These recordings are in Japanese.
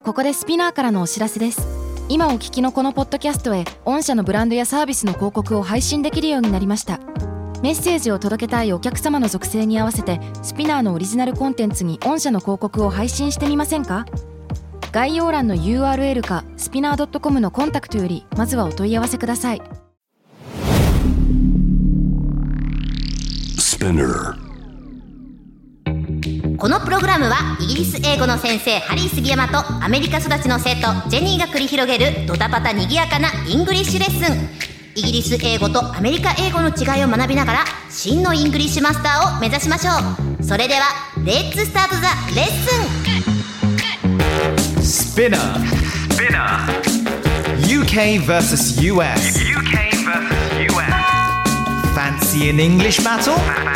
ここでスピナーからのお知らせです。今お聞きのこのポッドキャストへ御社のブランドやサービスの広告を配信できるようになりました。メッセージを届けたいお客様の属性に合わせてスピナーのオリジナルコンテンツに御社の広告を配信してみませんか？概要欄の URL かスピナー .com のコンタクトよりまずはお問い合わせください。 このプログラムはイギリス英語の先生ハリー杉山とアメリカ育ちの生徒ジェニーが繰り広げるドタパタにぎやかなイングリッシュレッスン。イギリス英語とアメリカ英語の違いを学びながら真のイングリッシュマスターを目指しましょう。それではレッツスタートザレッスン。 Spinner UK vs US Fancy an English battle?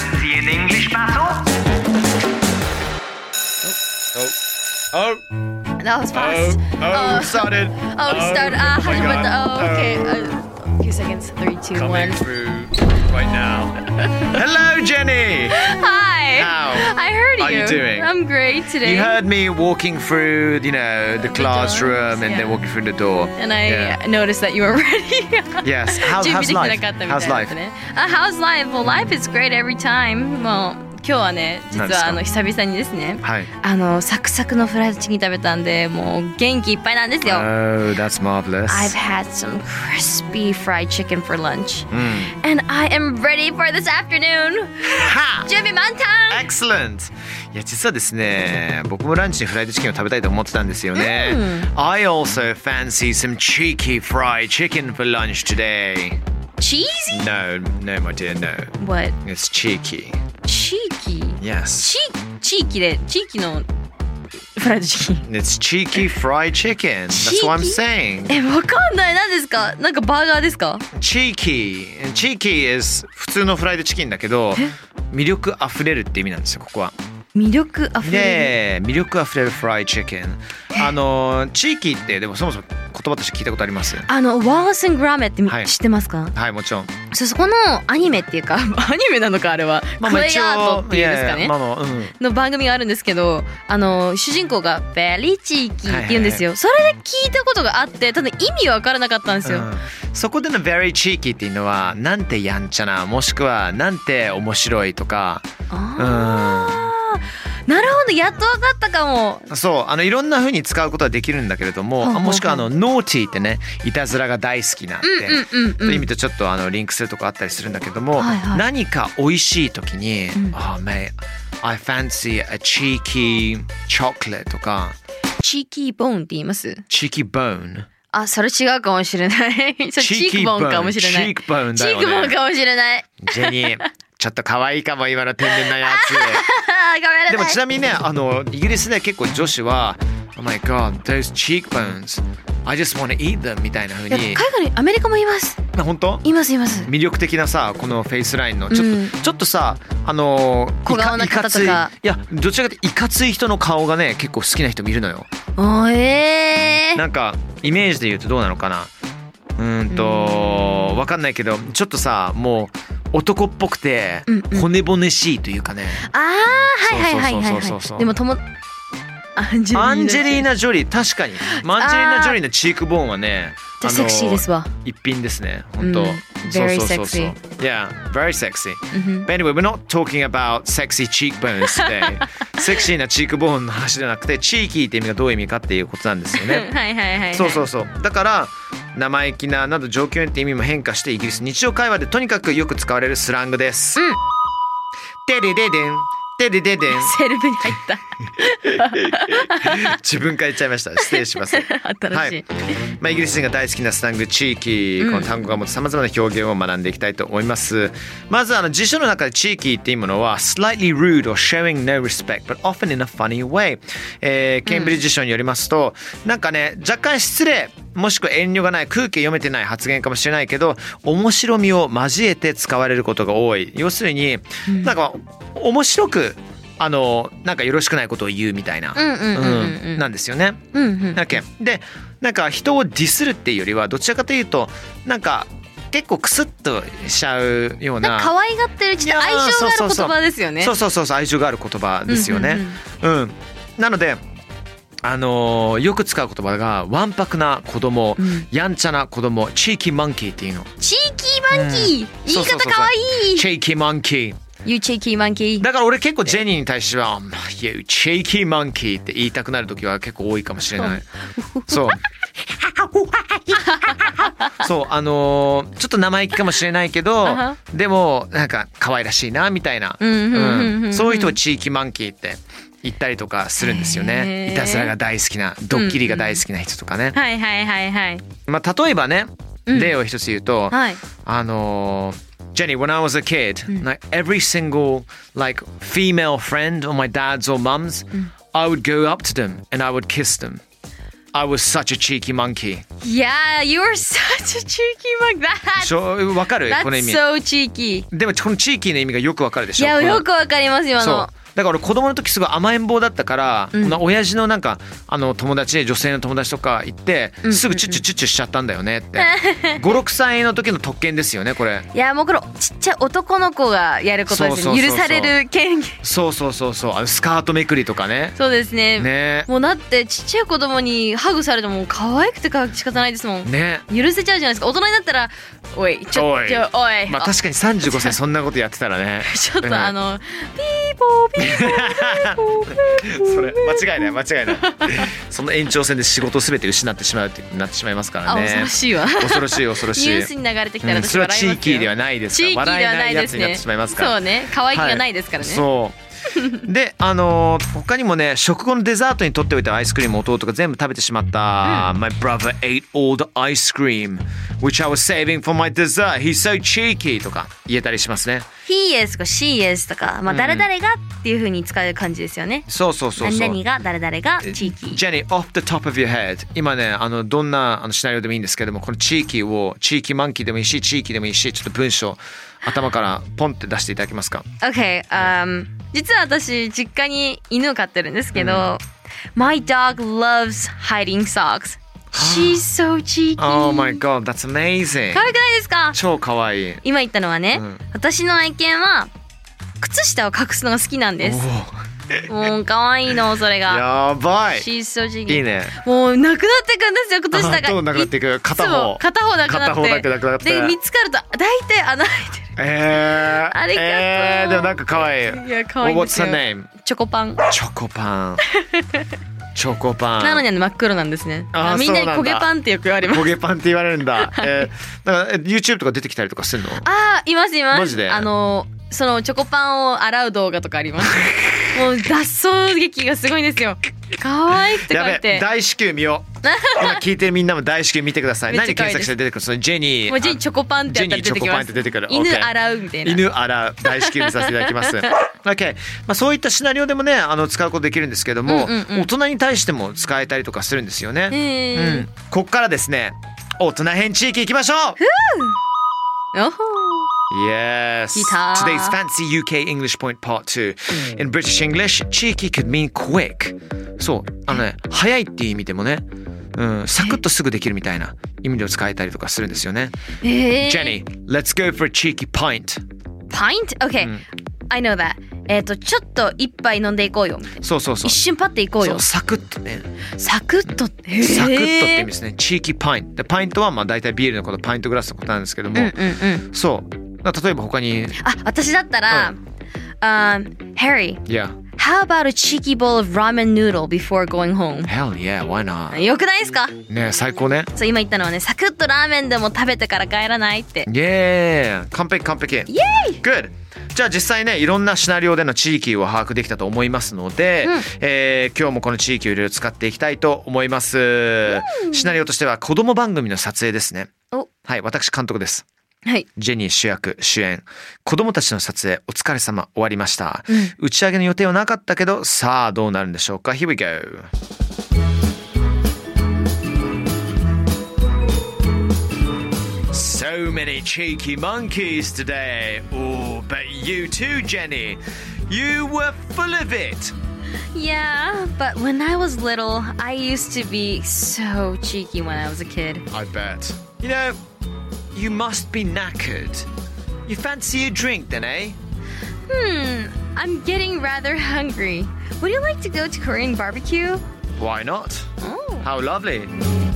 Oh, That was fast. started. Start. my How about God. the? Okay. A few seconds. 3, 2, Coming 1. through right now. Hello, Jenny. Hi. How I heard are you. you doing? I'm great today. You heard me walking through, the classroom and then yeah. walking through the door. And I Yeah. noticed that you were ready. Yes. How's 準備できて life? なかったみたい How's だ life? ったね。How's life? Well, life is great every time. もう今日はね、実は何です久々にですね、 はい。 サクサクのフライドチキン食べたんで、もう元気いっぱいなんですよ。 Oh, that's marvelous. I've had some crispy fried chicken for lunch, and I am ready for this afternoon. 準備満タン。 Excellent! いや実はですね、僕もランチにフライドチキンを食べたいと思ってたんですよね。I also fancy some cheeky fried chicken for lunch today. Cheesy? No, my dear, no. What? It's cheeky. Cheeky? Yes. 地域のフライドチキン。 It's cheeky fried chicken. That's what I'm saying. わかんない。何ですか？なんかバーガーですか？ Cheeky. Cheeky is 普通のフライドチキンだけど、魅力あふれるって意味なんですよ、ここは。 魅力あふれる。 魅力あふれるフライドチキン。地域ってでもそもそも言葉として聞いたことあります？ ワースングラメって知ってますか？ はい、もちろん。 そこのアニメっていうかアニメなのかあれは、クレイアートっていうんですかね、の番組があるんですけど、主人公がベリーチーキーって言うんですよ。それで聞いたことがあって、ただ意味わからなかったんですよ。 そこでの very cheeky っていうのはなんてやんちゃな、もしくはなんて面白いとか。 なるほど、やっと分かったかも。 そういろんな風に使うことはできるんだけれども、もしくはnaughty ってね、いたずらが大好きなんて、という意味とちょっとリンクするとこあったりするんだけども、何か美味しい時に、Oh mate, I fancy a cheeky chocolate とか。 チーキーボーンって言います？ cheeky bone。 それ違うかもしれない。チークボーンかもしれない。 チークボーンだよね。 チークボーンかもしれない。 ジェニー、ちょっと可愛いかも今の天然なやつ。でもちなみにね、イギリスで結構女子は Oh my god, those cheekbones I just want to eat them みたいな風に。 海外アメリカも言います。 本当？ います魅力的なさ、このフェイスラインのちょっとさ、 小顔な方とか、 いやどちらかというといかつい人の顔がね結構好きな人もいるのよ。 なんかイメージで言うとどうなのかな。わかんないけど、ちょっとさ、もう男っぽくて骨々しいというかね。 でもアンジェリーナ・ジョリー、確かにアンジェリーナ・ジョリーのチークボーンはね、 セクシーですわ。 一品ですね、本当。 Very sexy. Yeah, very sexy. But anyway, we're not talking about sexy cheekbones today. セクシーなチークボーンの話じゃなくて、チーキーって意味がどういう意味かっていうことなんですよね。そうだから生意気ななど状況によって意味も変化して、イギリス日常会話でとにかくよく使われるスラングです。テレレデンテレレデン。 セルフに入った。 自分から言っちゃいました。失礼します。 新しい。 イギリス人が大好きなスラング、地域、この単語が持つさまざまな表現を学んでいきたいと思います。まず辞書の中で地域っていうものは slightly rude or showing no respect but often in a funny way、ケンブリッジ辞書によりますと、なんかね、若干失礼もしくは遠慮がない、空気読めてない発言かもしれないけど、面白みを交えて使われることが多い。要するに、なんか面白くなんかよろしくないことを言うみたいななんですよね。で、なんか人をディスるっていうよりはどちらかというとなんか結構クスッとしちゃうような、 可愛がってる、ちょっと愛情がある言葉ですよね。 そう愛情がある言葉ですよね。なのでよく使う言葉がわんぱくな子供、やんちゃな子供、チーキーマンキーっていうの。 チーキーマンキー、言い方かわいい。 チーキーマンキー。 You cheeky monkey。 だから俺結構ジェニーに対しては You cheeky monkey って言いたくなる時は結構多いかもしれない。そうそうちょっと生意気かもしれないけどでもなんか可愛らしいなみたいな、そういう人をチーキーマンキーって言ったりとかするんですよね。いたずらが大好きな、ドッキリが大好きな人とかね。 はいはいはいはい。 まあ例えばね、例を一つ言うと、Jenny, when I was a kid, like every single like female friend on my dad's or mum's, I would go up to them and I would kiss them. I was such a cheeky monkey. Yeah, you were such a cheeky monkey. わかる？この意味。 That's so cheeky. でもこのチーキーの意味がよくわかるでしょ。 いや、よくわかります今の。 だから俺子供の時すごい甘えん坊だったから、親父のなんか友達で女性の友達とか行ってすぐチュッチュチュッチュしちゃったんだよねって5、6歳の時の特権ですよねこれ。 いやもうこれちっちゃい男の子がやることですね。許される権限。 そうスカートめくりとかね。 そうですね。もうだってちっちゃい子供にハグされても可愛くて仕方ないですもんね。許せちゃうじゃないですか。大人になったらおいちょおい。 まあ確かに35歳そんなことやってたらねちょっとピーポーピーそれ間違いないその延長線で仕事を全て失ってしまうってなってしまいますからね。 恐ろしいわ。 恐ろしいニュースに流れてきたらそれはチーキーではないですから。笑えないやつになってしまいますから。 そうね、可愛げがないですからね。 そうで他にもね、食後のデザートにとっておいたアイスクリームを弟が全部食べてしまった、My brother ate all the ice cream which I was saving for my dessert. He's so cheeky とか言えたりしますね。 He is とか She is とか、まあ誰々がっていう風に使う感じですよね。 そう何々が誰々がチーキー。 Jenny, off the top of your head 今ねどんなシナリオでもいいんですけども、このチーキーをチーキーマンキーでもいいしチーキーでもいいし、ちょっと文章頭からポンって出していただけますか？ Okay、実は私実家に犬を飼ってるんですけど、My dog loves hiding socks. She's so cheeky. Oh my god, that's amazing. 可愛くないですか？ 超可愛い。 今言ったのはね、私の愛犬は靴下を隠すのが好きなんです。もう可愛いのそれが。 やばい。 She's so cheeky. いいね。 もうなくなっていくんですよ靴下が。 どうなくなっていく？片方なくなって。で見つかると大体穴開いてる。ありがとう。 でもなんか可愛い。 いや可愛いですよ。 What's her name？ チョコパン。 チョコパンなのに真っ黒なんですね。みんなに焦げパンってよく言われます。 焦げパンって言われるんだ。だから YouTube とか出てきたりとかするの？ います。 マジで？ そのチョコパンを洗う動画とかあります。もう脱走劇がすごいんですよ。可愛くて可愛くて。 やべ、大至急見よう。今聞いてるみんなも大至急見てください。何検索して出てくる？そのジェニー。 もうジェニーチョコパンってやったら出てきます。犬洗うみたいな。 犬洗う大至急見させていただきます。OK。まあそういったシナリオでもね使うことできるんですけども、大人に対しても使えたりとかするんですよね。こっからですね、大人編地域行きましょう。Yes. Today's fancy UK English point part 2. In British English, cheeky could mean quick. そう、早いっていう意味でもね、サクッとすぐできるみたいな意味で使えたりとかするんですよね。Jenny, let's go for a cheeky pint. Pint? Okay. I know that. ちょっと一杯飲んでいこうよ。 そう。 一瞬パッていこうよ。 そう、サクッとね。 サクッとって。 サクッとって意味ですね。チーキーパイント。で、パイントはまあ大体ビールのこと、パイントグラスのことなんですけども。そう。例えば他に。 私だったら、Harry. Yeah.How about a cheeky bowl of ramen noodle before going home? Hell yeah, why not? よくないですか？ ね、最高ね。 そう、今言ったのはね、サクッとラーメンでも食べてから帰らないって。 Yeah! 完璧。 イエーイ Good! じゃあ実際ね、いろんなシナリオでの地域を把握できたと思いますので、今日もこの地域をいろいろ使っていきたいと思います。シナリオとしては子供番組の撮影ですね。はい、私監督です。 はい、 ジェニー主役主演、子供たちの撮影お疲れ様、終わりました、打ち上げの予定はなかったけど、さあどうなるんでしょうか。 Here we go. So many cheeky monkeys today. Oh, but you too, Jenny. You were full of it. Yeah, but when I was little, I used to be so cheeky when I was a kid. I bet. You know,You must be knackered. You fancy a drink then, eh? I'm getting rather hungry. Would you like to go to Korean barbecue? Why not? How lovely.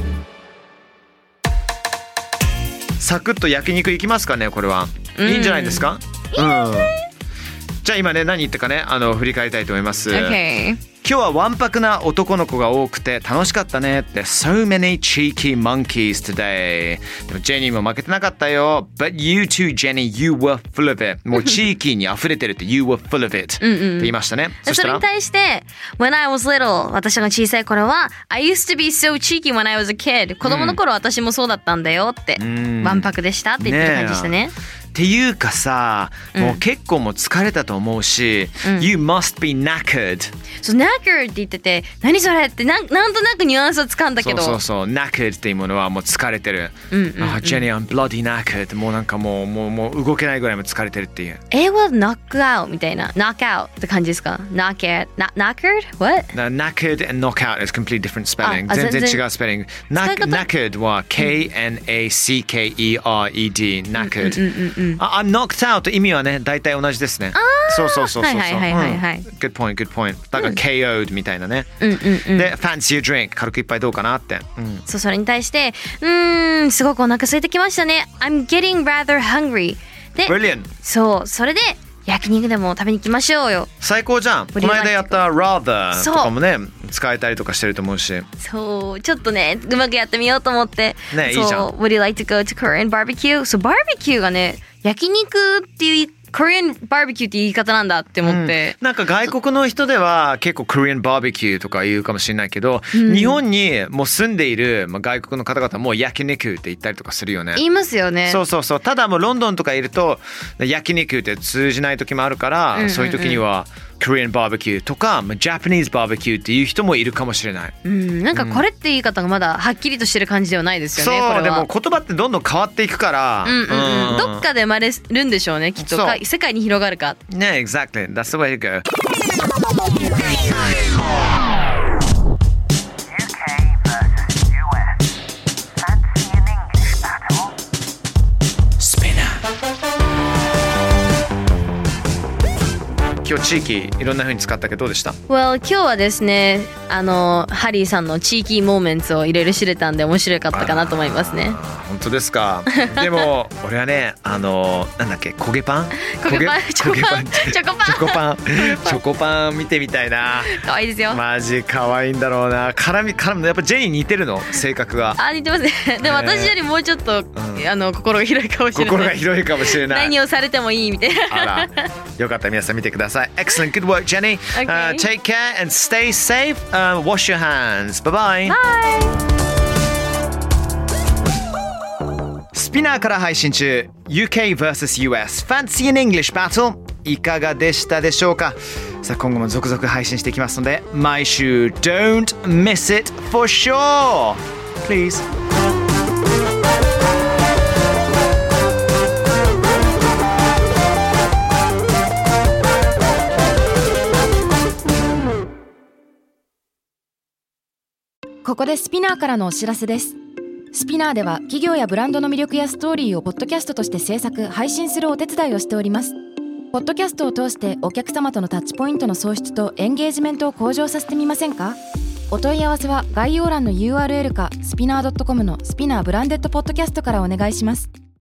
サクッと焼肉いきますかねこれは。いいんじゃないですか？うん。じゃあ今ね何言ったかね振り返りたいと思います。 Okay. 今日はわんぱくな男の子が多くて楽しかったねって So many cheeky monkeys today でもジェニーも負けてなかったよ But you too Jenny you were full of it もうチーキーに溢れてるって You were full of it って言いましたね。 それに対して When I was little 私が小さい頃は I used to be so cheeky when I was a kid 子供の頃私もそうだったんだよってわんぱくでしたって言ってる感じでしたね。 っていうかさ、もう結構もう疲れたと思うし、You must be knackered。 そう、knackered って言ってて、何それってなんとなくニュアンスをつかんだけど。 そう、knackered っていうものはもう疲れてる。Jenny, I'm bloody knackered。もうなんかもう動けないぐらいも疲れてるっていう。 英語は knock out みたいな、knock out って感じですか？ knackered? What? Knackered and knockout is completely different spelling。全然違うスペリング。knackered は K-N-A-C-K-E-R-E-D。knackered。I'm knocked out 意味はね大体同じですね。そう。 はい。 Good point。だから KO'd みたいなね。で Fancy a drink 軽く一杯どうかなって。 そうそれに対してすごくお腹空いてきましたね。I'm getting rather hungry。で Brilliant。 そうそれで焼肉でも食べに行きましょうよ。 最高じゃん。この間やった rather とかもね使えたりとかしてると思うし。 そうちょっとねうまくやってみようと思って。 ねいいじゃん。 Would you like to go to Korean barbecue? そうバーベキューがね焼肉っていうKorean barbecue って言い方なんだって思って、 なんか外国の人では結構 Korean barbecue とか言うかもしれないけど、日本にもう住んでいる外国の方々も焼肉って言ったりとかするよね。 言いますよね。 そう。ただもうロンドンとかいると焼肉って通じない時もあるから、そういう時にはKorean barbecue とか Japanese barbecue っていう人もいるかもしれない。 なんかこれって言い方がまだはっきりとしてる感じではないですよね。 そうでも言葉ってどんどん変わっていくから、 どっかで生まれるんでしょうねきっと。世界に広がるかね。Exactly That's the way to go。今日地域いろんな風に使ったけどどうでした？ Well 今日はですねハリーさんの地域モーメンツをいろいろ知れたんで面白かったかなと思いますね。 本当ですか？でも俺はねなんだっけ焦げパンチョコパン見てみたいな。 可愛いですよ。 マジ可愛いんだろうな。絡みやっぱジェニー似てるの性格が。 似てますね。でも私よりもうちょっと、心が広いかもしれない。 心が広いかもしれない。 何をされてもいいみたいな。 あらよかったら皆さん見てください。Excellent, good work, Jenny. Take care and stay safe. Wash your hands. Bye bye. スピナーから配信中 UK vs US Fancy in English Battle いかがでしたでしょうか？さあ今後も続々配信していきますので毎週 Don't miss it for sure. Please. ここでスピナーからのお知らせです。スピナーでは企業やブランドの魅力やストーリーをポッドキャストとして制作・配信するお手伝いをしております。ポッドキャストを通してお客様とのタッチポイントの創出とエンゲージメントを向上させてみませんか？お問い合わせは概要欄の URL かスピナー .com のスピナーブランデッドポッドキャストからお願いします。